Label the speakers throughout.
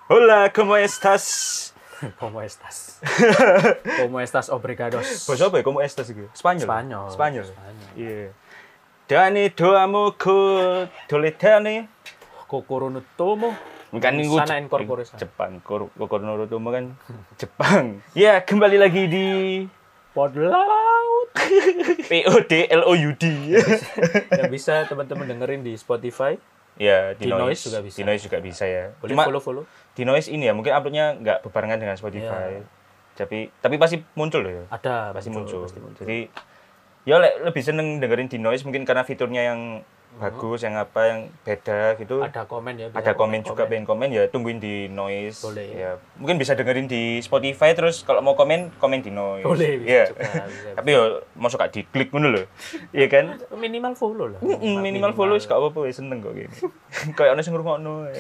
Speaker 1: Hola, ¿cómo estás?
Speaker 2: ¿Cómo estás? ¿Cómo estás, obrigados?
Speaker 1: Bahasa apa ya? ¿Cómo estás itu? Spanyol.
Speaker 2: Spanyol.
Speaker 1: Iya. Dani doamu ku toletane.
Speaker 2: Kokoro no tomo.
Speaker 1: Kan minggu
Speaker 2: Sana incorporation.
Speaker 1: Jepang. Kokoro no tomo kan Jepang. Ya, kembali lagi di
Speaker 2: Podlaut.
Speaker 1: PODLOUD.
Speaker 2: Yang bisa teman-teman dengerin di Spotify.
Speaker 1: Ya,
Speaker 2: Di Noise juga bisa.
Speaker 1: Di Noise juga bisa ya.
Speaker 2: Boleh
Speaker 1: Cuma
Speaker 2: follow.
Speaker 1: di Noise ini ya, mungkin uploadnya nggak berbarengan dengan Spotify.
Speaker 2: Iya.
Speaker 1: Tapi pasti muncul loh ya.
Speaker 2: Ada
Speaker 1: Pasti muncul.
Speaker 2: Pasti muncul.
Speaker 1: Jadi ya lebih seneng dengerin di Noise mungkin karena fiturnya yang bagus, yang apa yang beda gitu.
Speaker 2: Ada komen ya.
Speaker 1: Ada komen juga, pengen komen ya tungguin di Noise.
Speaker 2: Boleh.
Speaker 1: Ya, mungkin bisa dengerin di Spotify terus kalau mau komen di Noise.
Speaker 2: Boleh,
Speaker 1: ya.
Speaker 2: bisa.
Speaker 1: Tapi yo masuk gak diklik ngono lho. Iya kan?
Speaker 2: Minimal follow lah.
Speaker 1: Minimal follow wis gak apa-apa, wis seneng kok gini. Kayak ono sing ngrungokno.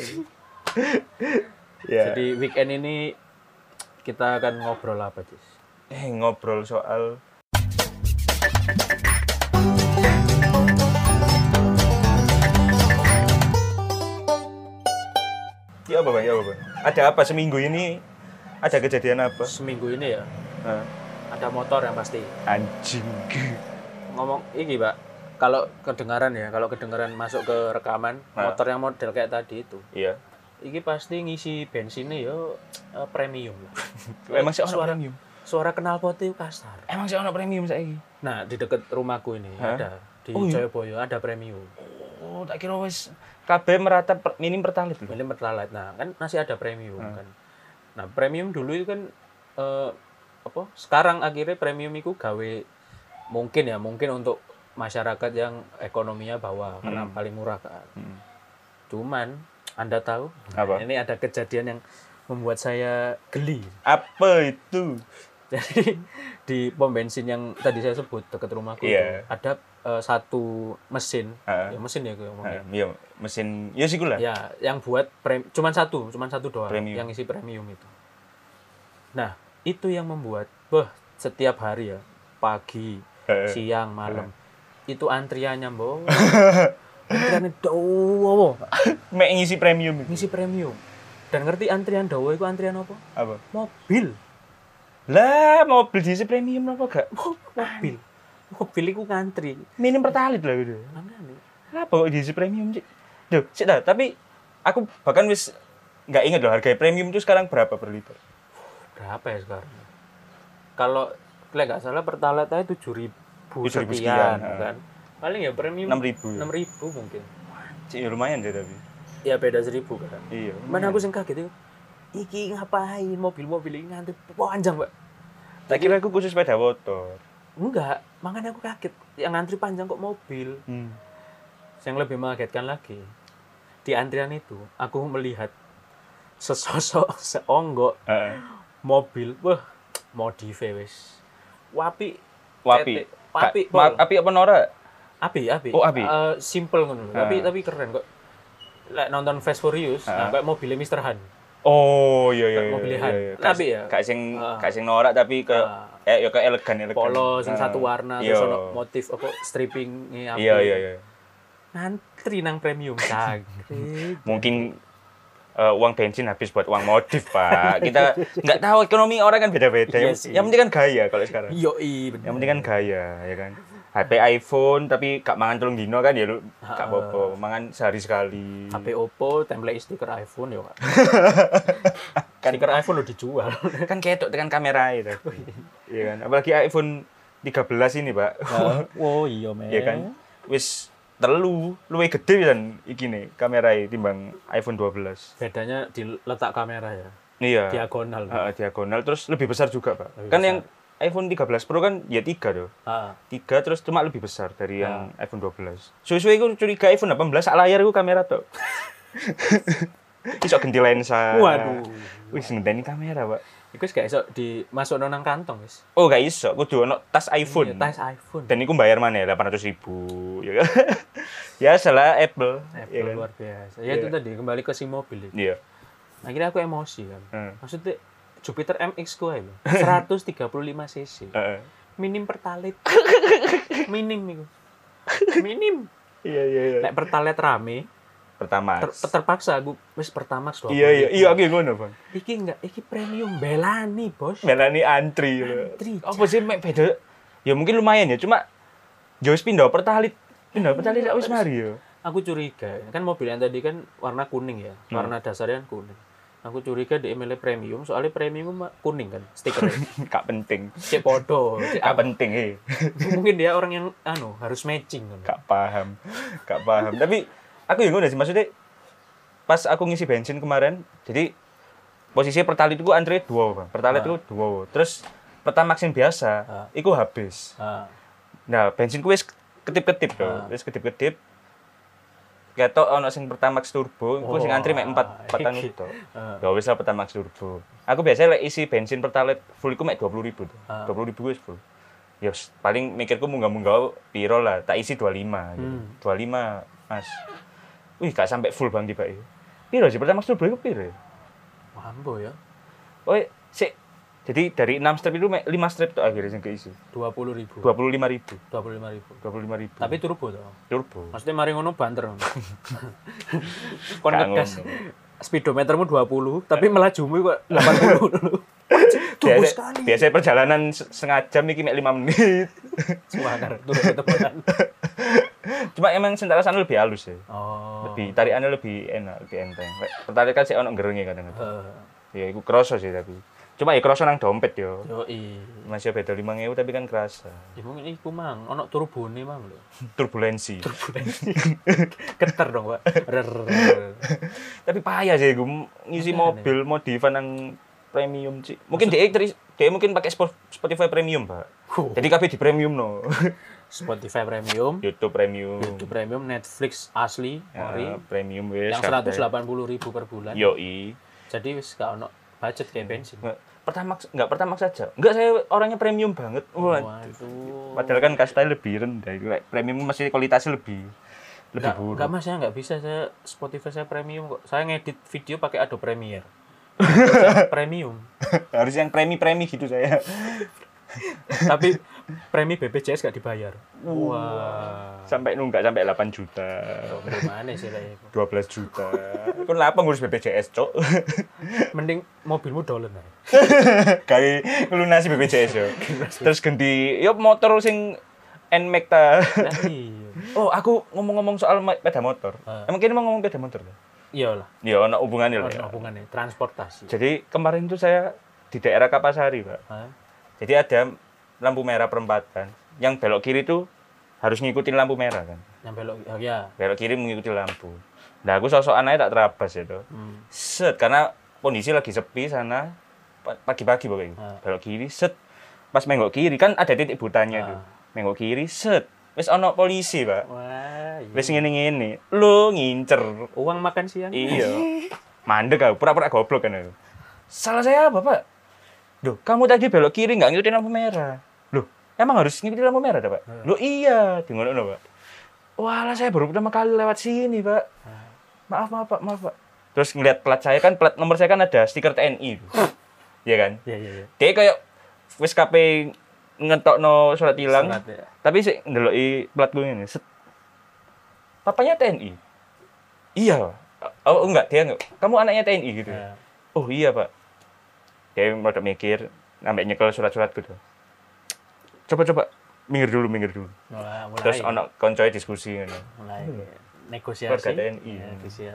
Speaker 1: Ya.
Speaker 2: Jadi weekend ini kita akan ngobrol apa, Cis?
Speaker 1: Ngobrol soal Ya apa, Bang? Ya apa, Bang? Ada apa seminggu ini? Ada kejadian apa?
Speaker 2: Seminggu ini ya,
Speaker 1: Hah?
Speaker 2: ada motor yang pasti.
Speaker 1: Anjing.
Speaker 2: Ngomong ini, Pak. Kalau kedengaran masuk ke rekaman, motor yang model kayak tadi itu.
Speaker 1: Iya.
Speaker 2: Iki pasti ngisi bensinnya yo premium.
Speaker 1: Emang sih ono premium.
Speaker 2: Suara knalpotnya kasar.
Speaker 1: Emang sih ono premium saiki.
Speaker 2: Nah, di dekat rumahku ini ada di Jayabaya ada premium.
Speaker 1: Oh, tak kira wis kabeh merata minim pertalite lho.
Speaker 2: Minim pertalite. Nah, kan masih ada premium kan. Nah, premium dulu itu kan sekarang akhirnya premium itu gawe mungkin untuk masyarakat yang ekonominya bawah karena paling murah kan. Cuman Anda tahu?
Speaker 1: Apa?
Speaker 2: Ini ada kejadian yang membuat saya geli.
Speaker 1: Apa itu?
Speaker 2: Jadi di pom bensin yang tadi saya sebut dekat rumahku itu ada satu mesin, mesin ya gue ngomongnya.
Speaker 1: Iya, mesin. Ya sih lah.
Speaker 2: Ya, yang buat cuman satu doang
Speaker 1: Premium.
Speaker 2: yang isi premium itu. Nah, itu yang membuat setiap hari ya, pagi, siang, malam. Itu antriannya, Mbok. Antriannya dawa.
Speaker 1: Mek ngisi premium itu.
Speaker 2: Ngisi premium. Dan ngerti antrian dawa itu antrian apa?
Speaker 1: Apa?
Speaker 2: Mobil.
Speaker 1: Lah, mobil diisi premium apa gak?
Speaker 2: Mobil itu ngantri.
Speaker 1: Minim pertalite lah gitu.
Speaker 2: Makanya.
Speaker 1: Kenapa kok diisi premium sih? Duh, sih dah, tapi aku bahkan wis nggak ingat loh harga premium itu sekarang berapa per liter.
Speaker 2: Berapa ya sekarang? Kalau nggak salah pertalite aja 7.000
Speaker 1: sekian,
Speaker 2: kan. Paling ya premium
Speaker 1: 6.000.
Speaker 2: 6.000 mungkin.
Speaker 1: Cik, lumayan deh tapi.
Speaker 2: Ya beda 1.000 kan.
Speaker 1: Iya.
Speaker 2: Mana aku sing kaget itu. Iki ngapain mobil-mobil ini ngantri panjang, Pak.
Speaker 1: Tak kira aku khusus sepeda motor.
Speaker 2: Enggak, makanya aku kaget. Yang ngantri panjang kok mobil. Yang lebih mengagetkan lagi, di antrian itu aku melihat sesosok seonggok mobil, modif wis. Wapi. Api apa Nora? Api.
Speaker 1: Oh, api.
Speaker 2: Simple ngono. Tapi keren kok. Lek nonton Fast Furious, kayak mobilnya Mr. Han.
Speaker 1: Oh, iya.
Speaker 2: Mobilnya Han. Tapi ya
Speaker 1: Gak sing norak tapi ke kayak elegan.
Speaker 2: Polo sing satu warna terus ono motif apa stripping-e api.
Speaker 1: Iya.
Speaker 2: Ngantri nang premium cag.
Speaker 1: Mungkin uang bensin habis buat uang modif, Pak. Kita nggak tahu ekonomi orang kan beda-beda. Yang penting kan gaya kalau sekarang.
Speaker 2: Yoi, bener.
Speaker 1: Yang penting kan gaya, ya kan. HP iPhone tapi gak mangan telung dino kan ya lu gak apa-apa, mangan sehari sekali.
Speaker 2: HP Oppo template stiker iPhone ya, Pak. Stiker iPhone lo dijual.
Speaker 1: Kan ketok tekan kamera itu. Iya kan. Apalagi iPhone 13 ini, Pak.
Speaker 2: Oh iya, men.
Speaker 1: Iya kan. Wis luwih gede kan iki nih kamera timbang iPhone 12.
Speaker 2: Bedanya di letak kamera ya.
Speaker 1: Iya.
Speaker 2: Diagonal.
Speaker 1: Diagonal terus lebih besar juga, Pak. Kan yang iPhone 13 Pro kan ya 3 tuh. 3 terus cuma lebih besar dari yang iPhone 12. Suwe-suwe aku curiga iPhone 18 sak layar iku kamera tuh. Iso ganti lensa.
Speaker 2: Waduh.
Speaker 1: Wis ngenteni kamera, Pak.
Speaker 2: Iku wis gak iso dimasukno nang kantong wis.
Speaker 1: Oh, gak iso. Kudu ono tas iPhone.
Speaker 2: Iya, tas iPhone.
Speaker 1: Dan iku bayar mana ya? 800.000 ya kan. Ya salah Apple.
Speaker 2: Ya kan? Luar biasa. Ya itu tadi kembali ke si mobil itu.
Speaker 1: Iya.
Speaker 2: Akhirnya aku emosi kan. Maksudnya Jupiter MX ku ae lho. 135 cc. Minim pertalite. Minim iku. Minim.
Speaker 1: Iya.
Speaker 2: Nek pertalite rame,
Speaker 1: Pertamax.
Speaker 2: Terpaksa aku wis Pertamax 20.
Speaker 1: Iya aku ngono, Bang.
Speaker 2: Iki premium belani, Bos.
Speaker 1: Belani antri. Apa sih mek beda? Ya mungkin lumayan ya, cuma yo wis pindah Pertalite wis mari yo.
Speaker 2: Aku curiga, kan mobil yang tadi kan warna kuning ya, warna dasarnya kuning. Aku curiga di emailnya premium, soalnya premium kuning kan, stikernya.
Speaker 1: Gak penting.
Speaker 2: Cek podo.
Speaker 1: Gak penting,
Speaker 2: Mungkin dia orang yang harus matching kan.
Speaker 1: Gak paham. Tapi aku yang ngono sih, maksudnya pas aku ngisi bensin kemarin, jadi posisi Pertalite itu antri 2, Bang. Pertalite itu 2. Terus Pertamax yang biasa, itu habis. Nah, bensinku wis ketip-ketip to. Wis ketip-ketip. Ketok ono sing Pertamax turbo, iku sing antri mek 4 itu. Ya wis lah Pertamax turbo. Aku biasanya lek isi bensin Pertalite full iku mek 20.000 tuh. 20.000 wis full. Ya paling mikirku munggah-munggah piro lah, tak isi 25 gitu. 25, Mas. Wih, gak sampai full Bang tiba iki. Piro sih Pertamax turbo iku piro ya?
Speaker 2: Mambo ya.
Speaker 1: Oh, sik. Jadi dari 6 strip itu 5 strip tuh akhirnya yang keisi.
Speaker 2: 20.000.
Speaker 1: 25.000.
Speaker 2: 25.000. Tapi turbo toh.
Speaker 1: Turbo.
Speaker 2: Maksudnya mari ngono banter. Kon ngegas. Speedometermu 20, tapi melajumu kok 80 dulu. Turbo sekali.
Speaker 1: Biasanya perjalanan setengah jam iki mek 5 menit.
Speaker 2: Semangar turun temenan.
Speaker 1: Cuma emang sentarasan lebih halus ya.
Speaker 2: Oh.
Speaker 1: Lebih tarikannya lebih enak, lebih enteng. Pertarik kan sih ono gerenge kadang-kadang. Ya iku kroso sih tapi. Cuma ya kroso nang dompet yo.
Speaker 2: Yoi.
Speaker 1: Masih beda 5.000 tapi kan kerasa.
Speaker 2: Ya mungkin iku mang, ono turbone mang lho.
Speaker 1: Turbulensi.
Speaker 2: Keter dong, Pak.
Speaker 1: Tapi payah sih gue ngisi mobil modifan nang premium sih. Mungkin dia mungkin pakai Spotify premium, Pak. Jadi kabeh di premium no.
Speaker 2: Spotify premium,
Speaker 1: YouTube premium,
Speaker 2: Netflix asli,
Speaker 1: premium wis.
Speaker 2: Yang 180.000 per bulan.
Speaker 1: Yoi.
Speaker 2: Jadi wis gak ono budget kayak bensin.
Speaker 1: Pertamax saja. Enggak, saya orangnya premium banget.
Speaker 2: Waduh.
Speaker 1: Padahal kan kastanya lebih rendah. Premium masih kualitasnya lebih buruk.
Speaker 2: Enggak Mas, saya enggak bisa saya Spotify saya premium kok. Saya ngedit video pakai Adobe Premiere. Premium.
Speaker 1: Harus yang premi gitu saya.
Speaker 2: Tapi premi BPJS gak dibayar.
Speaker 1: Wah. Sampai 8 juta.
Speaker 2: Gimana sih lah itu?
Speaker 1: 12 juta. Kon lapang ngurus BPJS, Cok.
Speaker 2: Mending mobilmu dolen ae.
Speaker 1: Kayak ngelunasi BPJS yo. Terus ganti yo motor sing NMAX ta. Oh, aku ngomong-ngomong soal sepeda motor. Emang kini mau ngomong sepeda motor ta?
Speaker 2: Iyalah.
Speaker 1: Ya ono hubungannya lah.
Speaker 2: Ono hubungannya, transportasi.
Speaker 1: Jadi kemarin tuh saya di daerah Kapasari, Pak. Jadi ada lampu merah perempatan. Yang belok kiri tuh harus ngikutin lampu merah kan.
Speaker 2: Yang belok ya.
Speaker 1: Belok kiri mengikuti lampu. Nah, aku sosok anaknya tak terabas itu. Set, karena kondisi lagi sepi sana pagi-pagi pokoknya. Belok kiri, set. Pas menggok kiri kan ada titik butanya tuh. Menggok kiri, set. Wis ono polisi, Pak.
Speaker 2: Wah, iya.
Speaker 1: Wis ngene-ngene. Lu ngincer
Speaker 2: uang makan siang.
Speaker 1: Iya. Mandek aku, pura-pura goblok kan aku. Salah saya apa, Pak? Loh, kamu tadi belok kiri nggak ngikutin lampu merah. Loh, emang harus ngikutin lampu merah, Pak? Loh iya, di ngono, Pak. Walah, saya baru pertama kali lewat sini, Pak. Maaf, Pak. Terus ngeliat plat saya kan, plat nomor saya kan ada stiker TNI. Iya kan?
Speaker 2: Iya.
Speaker 1: Dia kayak wis KP ngetokno surat tilang.
Speaker 2: Ya.
Speaker 1: Tapi sik ndeloki plat gue ini. Set. Papanya TNI. Iya. Oh, enggak, dia enggak. Kamu anaknya TNI gitu. Ya. Oh, iya, Pak. Dia udah mikir, sampai nyekel surat-surat gitu. Coba minggir dulu. Mulai. Terus ono koncoe diskusi ngono.
Speaker 2: Mulai negosiasi.
Speaker 1: Warga TNI.
Speaker 2: Siap.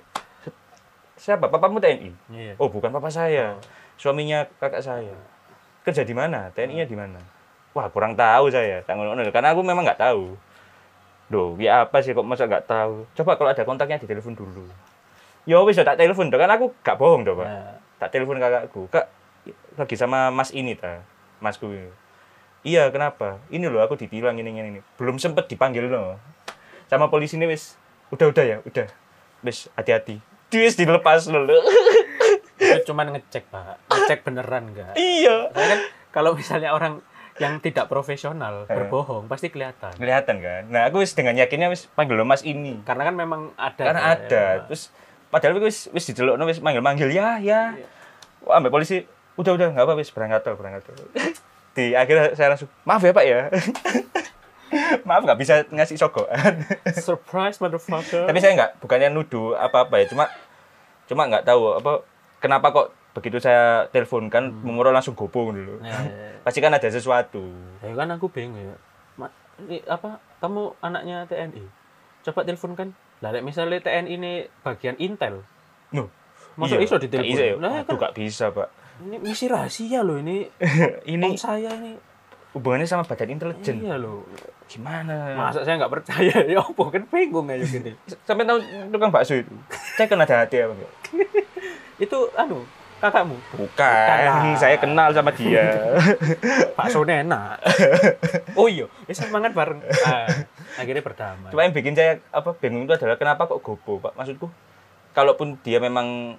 Speaker 1: Siapa? Papamu TNI?
Speaker 2: Iya.
Speaker 1: Oh, bukan papa saya. Suaminya kakak saya. Kerja di mana? TNI-nya di mana? Wah, kurang tahu saya. Karena aku memang nggak tahu. Duh, ya apa sih kok masa nggak tahu? Coba kalau ada kontaknya ditelepon dulu. Ya wis tak telepon, kan aku gak bohong, Pak. Tak telepon kakakku, Kak, lagi sama Mas ini ta, Masku ini. Iya, kenapa? Ini loh aku ditilang ini. Belum sempet dipanggil loh. Sama polisi ini wis, udah. Wis hati-hati. Wis dilepas loh.
Speaker 2: Itu cuman ngecek, Pak. Ngecek beneran enggak?
Speaker 1: Iya.
Speaker 2: Kan kalau misalnya orang yang tidak profesional berbohong pasti kelihatan.
Speaker 1: Kelihatan kan. Nah, aku wis dengan yakinnya wis panggil lo Mas ini.
Speaker 2: Karena kan memang ada.
Speaker 1: Karena ada. Ya. Terus padahal wis didelokno wis manggil ya. Wah, ambek polisi udah enggak apa wis berangkat. Di akhirnya saya langsung maaf ya, Pak ya. Maaf nggak bisa ngasih sogokan.
Speaker 2: Surprise motherfucker.
Speaker 1: Tapi saya bukannya nuduh apa-apa ya, cuma nggak tahu apa kenapa kok begitu saya teleponkan Momoro langsung gopo dulu.
Speaker 2: Ya.
Speaker 1: Pasti kan ada sesuatu.
Speaker 2: Ya kan aku bingung ya. Ini apa kamu anaknya TNI? Coba telepon kan. Lah misalnya TNI ini bagian Intel.
Speaker 1: Nuh.
Speaker 2: Masuk iso ditelepon.
Speaker 1: Nggak bisa ya?
Speaker 2: Nah,
Speaker 1: Aduh, nggak bisa, Pak.
Speaker 2: Ini misi rahasia loh ini.
Speaker 1: Ini
Speaker 2: Om saya ini.
Speaker 1: hubungannya sama badan intelijen.
Speaker 2: Iya loh.
Speaker 1: Gimana?
Speaker 2: Masa saya nggak percaya? Ya apa kan bingung aja gini.
Speaker 1: Sampai tahu tukang bakso itu. Saya kan ada hati apa enggak?
Speaker 2: Itu kakakmu.
Speaker 1: Bukan, saya kenal sama dia.
Speaker 2: Bakso enak. Oh iya, bisa mangan bareng. Akhirnya berdamai.
Speaker 1: Cuma yang bikin saya bingung itu adalah kenapa kok gopo, Pak? Maksudku, kalaupun dia memang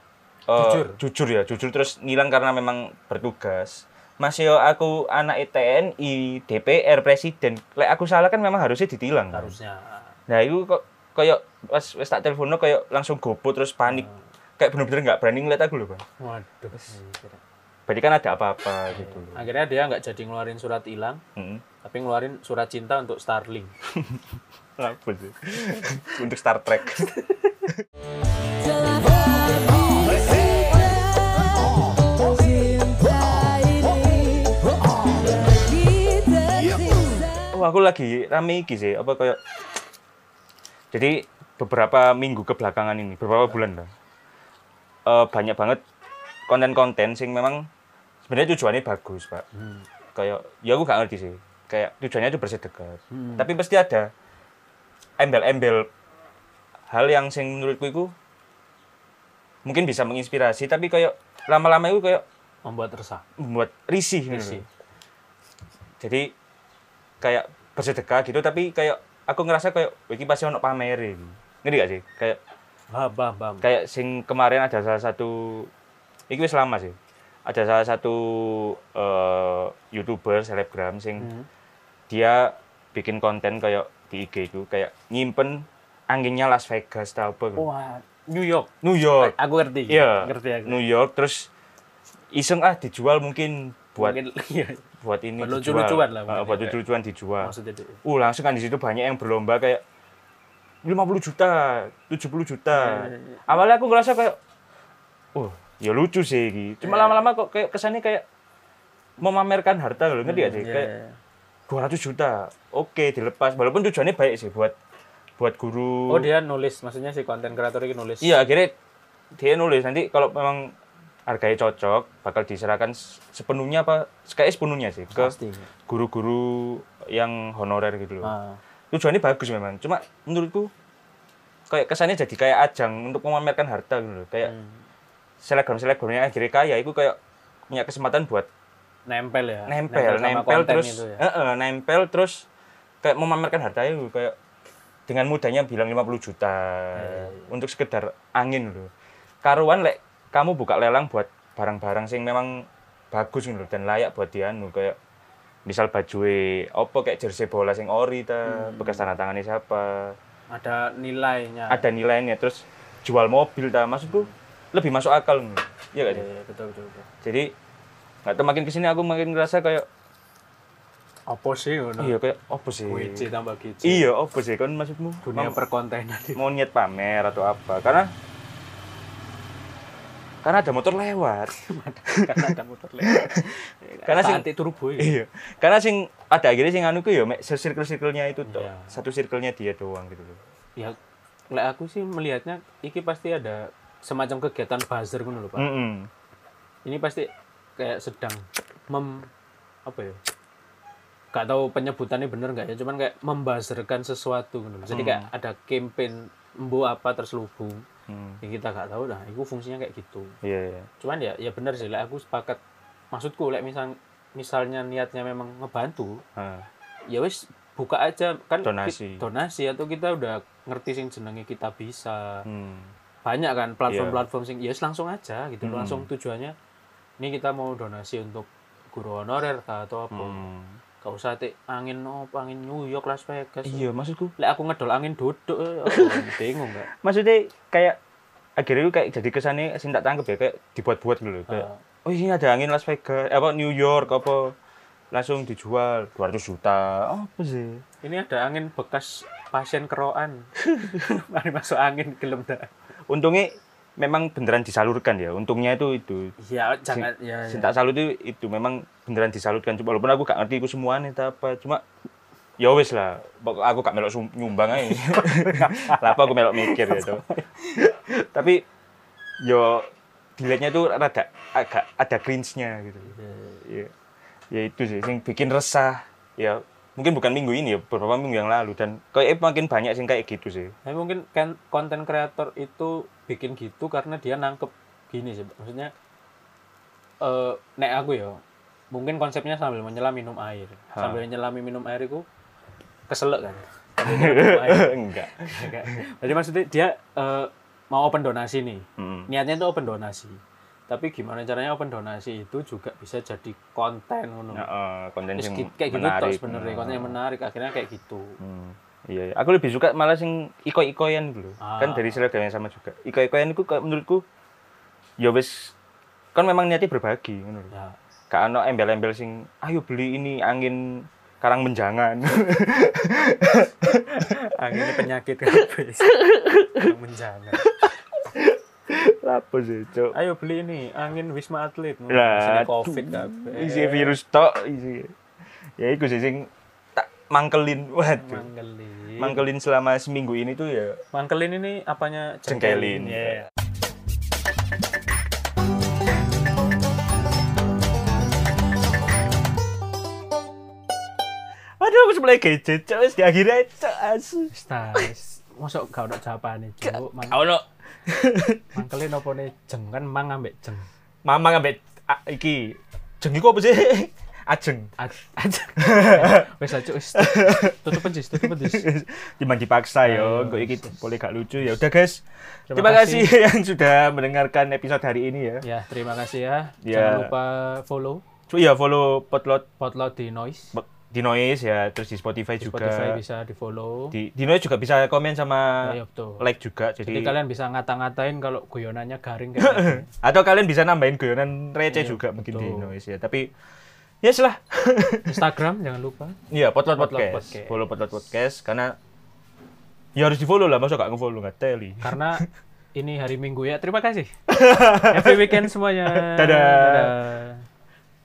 Speaker 1: jujur terus ngilang karena memang bertugas. Masih aku anak TNI, DPR, presiden. Lek aku salah kan memang harusnya ditilang.
Speaker 2: Harusnya.
Speaker 1: Nah, itu kok kayak wes tak teleponnya kayak langsung gopo terus panik. Kayak bener-bener nggak berani ngeliat aku loh, Bang.
Speaker 2: Waduh.
Speaker 1: Berarti kan ada apa-apa gitu loh.
Speaker 2: Akhirnya dia nggak jadi ngeluarin surat hilang, tapi ngeluarin surat cinta untuk Starlink.
Speaker 1: Apa sih? Untuk Star Trek. Oh, aku lagi rame iki sih, apa kayak jadi beberapa minggu kebelakangan ini, beberapa bulan lah. Banyak banget konten-konten sing memang sebenarnya tujuannya bagus, Pak. Kayak ya aku gak ngerti sih. Kayak tujuannya itu bersedekah. Tapi pasti ada embel-embel hal yang sing menurutku itu mungkin bisa menginspirasi, tapi kayak lama-lama itu kayak
Speaker 2: Membuat resah.
Speaker 1: membuat risih. Gitu. Jadi kayak bersedekah gitu, tapi kayak aku ngerasa kayak iki pasti ono pamer iki. Ngerti gak sih? Kayak
Speaker 2: Bam.
Speaker 1: kayak sing kemarin ada salah satu iki wis lama sih. Ada salah satu YouTuber selebgram sing dia bikin konten kayak di IG itu kayak nyimpen anginnya Las Vegas tau apa.
Speaker 2: Wah, New York.
Speaker 1: New York.
Speaker 2: Aku ngerti.
Speaker 1: Iya.
Speaker 2: Ngerti aku.
Speaker 1: New York terus iseng dijual mungkin buat buat ini
Speaker 2: buat
Speaker 1: dijual.
Speaker 2: lucu-lucuan lah.
Speaker 1: Buat lucu-lucuan dijual.
Speaker 2: Maksudnya itu.
Speaker 1: Langsung kan di situ banyak yang berlomba kayak 50 juta, 70 juta. Awalnya aku ngerasa kayak ya lucu sih gitu. Cuma lama-lama kok kayak kesannya kayak memamerkan harta loh, ngerti gak sih? Kayak 200 juta. Oke, dilepas. Walaupun tujuannya baik sih buat guru.
Speaker 2: Oh, dia nulis, maksudnya si konten kreator ini nulis.
Speaker 1: Iya, akhirnya dia nulis nanti kalau memang harganya cocok bakal diserahkan sepenuhnya sepenuhnya sih ke guru-guru yang honorer gitu loh. Tujuannya bagus memang. Cuma menurutku kayak kesannya jadi kayak ajang untuk memamerkan harta gitu loh. Kayak selebgram-selebgramnya akhirnya kaya itu kayak punya kesempatan buat
Speaker 2: nempel
Speaker 1: terus
Speaker 2: itu ya.
Speaker 1: Nempel terus kayak memamerkan hartanya gitu kayak dengan mudahnya bilang 50 juta untuk sekedar angin loh. Karuan kamu buka lelang buat barang-barang sing memang bagus gitu dan layak buat dianu kayak misal baju kayak jersey bola sing ori bekas tanda tangannya siapa.
Speaker 2: Ada nilainya.
Speaker 1: Terus jual mobil maksudku lebih masuk akal nih. Iya gak sih?
Speaker 2: Iya, betul.
Speaker 1: Jadi enggak tahu makin kesini aku makin ngerasa kayak
Speaker 2: apa sih ngono?
Speaker 1: Iya kayak apa sih?
Speaker 2: WC tambah gizi.
Speaker 1: Iya, apa sih kan maksudmu?
Speaker 2: Dunia perkontenan.
Speaker 1: Mau niat pamer atau apa? Karena ada motor lewat. Karena sing
Speaker 2: anti turbo ya.
Speaker 1: Iya. Karena sing ada akhirnya sing anu ku ya circle-circle-nya itu toh. Satu circle-nya dia doang gitu loh.
Speaker 2: Ya, aku sih melihatnya iki pasti ada semacam kegiatan buzzer ngono lho, Pak. Ini pasti kayak sedang apa ya? Gak tahu penyebutannya bener nggak ya, cuman kayak membuzzerkan sesuatu gitu. Jadi kayak ada campaign apa terselubung. Ya kita gak tahu dah, itu fungsinya kayak gitu.
Speaker 1: Iya.
Speaker 2: Cuman ya bener sih, aku sepakat. Maksudku misalnya niatnya memang ngebantu. Ya wis buka aja kan donasi atau kita udah ngerti sing jenenge kita bisa. Banyak kan platform-platform sing ya langsung aja gitu. Langsung tujuannya ini kita mau donasi untuk guru honorer atau apa. Gak usah angin New York, Las Vegas.
Speaker 1: Iya, maksudku.
Speaker 2: Aku ngedol angin duduk, bingung gak?
Speaker 1: Maksudnya kayak akhirnya itu kayak jadi kesannya tak tangkep ya kayak dibuat-buat dulu kayak ini ada angin Las Vegas, New York apa. langsung dijual 200 juta. Apa sih?
Speaker 2: Ini ada angin bekas pasien keroan. Mari masuk angin gelem dah.
Speaker 1: Untungnya memang beneran disalurkan ya. Untungnya itu.
Speaker 2: Ya jangan
Speaker 1: Sing tak salut itu memang beneran disalurkan. Walaupun aku gak ngerti itu semuanya apa. Cuma ya wis lah. Aku gak melok nyumbang aja. Lah apa aku melok mikir gitu. Tapi yo dilihatnya tuh agak ada cringe-nya gitu. Iya. Ya itu sih yang bikin resah. Ya mungkin bukan minggu ini ya, beberapa minggu yang lalu dan kayak makin banyak sih kayak gitu sih.
Speaker 2: Tapi mungkin kan konten kreator itu bikin gitu karena dia nangkep gini sih. Maksudnya nek aku ya mungkin konsepnya sambil menyelam minum air. Sambil nyelami minum air itu keselak kan.
Speaker 1: Enggak.
Speaker 2: Jadi maksudnya dia mau open donasi nih. Niatnya itu open donasi. Tapi gimana caranya open donasi itu juga bisa jadi konten ngono.
Speaker 1: Konten yang
Speaker 2: kayak gitu
Speaker 1: menarik.
Speaker 2: toh sebenarnya konten yang menarik akhirnya kayak gitu.
Speaker 1: Iya, aku lebih suka malah sing iko-ikoyan dulu. Kan dari seragam yang sama juga. Iko-ikoyan itu menurutku ya wis kan memang niatnya berbagi ngono lho.
Speaker 2: Ya.
Speaker 1: Gak ono embel-embel sing ayo beli ini angin karang menjangan.
Speaker 2: Anginnya penyakit kabeh. Menjangan.
Speaker 1: Apa sih, Cuk?
Speaker 2: Ayo beli ini angin Wisma Atlet.
Speaker 1: Lah,
Speaker 2: Covid kabeh.
Speaker 1: Isi virus tok isi. Ya iku sih sing tak mangkelin. Waduh. Mangkelin selama seminggu ini tuh ya.
Speaker 2: Mangkelin ini apanya?
Speaker 1: Jengkelin.
Speaker 2: Yeah.
Speaker 1: Aduh, aku mulai gadget, Cuk. Wis akhirnya Cuk asu.
Speaker 2: Stas. Mosok gak ono jawabane, Cuk.
Speaker 1: Ono.
Speaker 2: Mangkelin opone jeng kan mang ambek jeng.
Speaker 1: Mamang ambek iki. Jeng iku apa sih? Ajeng.
Speaker 2: Ajeng. Wis aja wis. Tutup pencis.
Speaker 1: Timbang dipaksa yo, kok iki boleh gak lucu ya. Udah guys. Terima kasih yang sudah mendengarkan episode hari ini ya.
Speaker 2: Ya, terima kasih ya.
Speaker 1: Ya.
Speaker 2: Jangan lupa follow.
Speaker 1: Iya, follow Potlot
Speaker 2: di Noise.
Speaker 1: Di Noise ya, terus di Spotify
Speaker 2: Di
Speaker 1: juga.
Speaker 2: Spotify bisa di-follow.
Speaker 1: Di Noise juga bisa komen sama
Speaker 2: Ya, betul.
Speaker 1: like juga.
Speaker 2: Jadi kalian bisa ngata-ngatain kalau guyonannya garing kayak gini.
Speaker 1: Atau kalian bisa nambahin guyonan receh
Speaker 2: Iya,
Speaker 1: juga mungkin
Speaker 2: betul.
Speaker 1: di Noise ya. Tapi ya lah.
Speaker 2: Instagram jangan lupa.
Speaker 1: Iya, Potlot
Speaker 2: Potlot
Speaker 1: Podcast.
Speaker 2: Podcast.
Speaker 1: Follow Potlot Podcast karena ya harus di-follow lah, masa gak nge-follow nggak teli.
Speaker 2: Karena ini hari Minggu ya. Terima kasih. Happy weekend semuanya.
Speaker 1: Dadah.
Speaker 2: Dadah.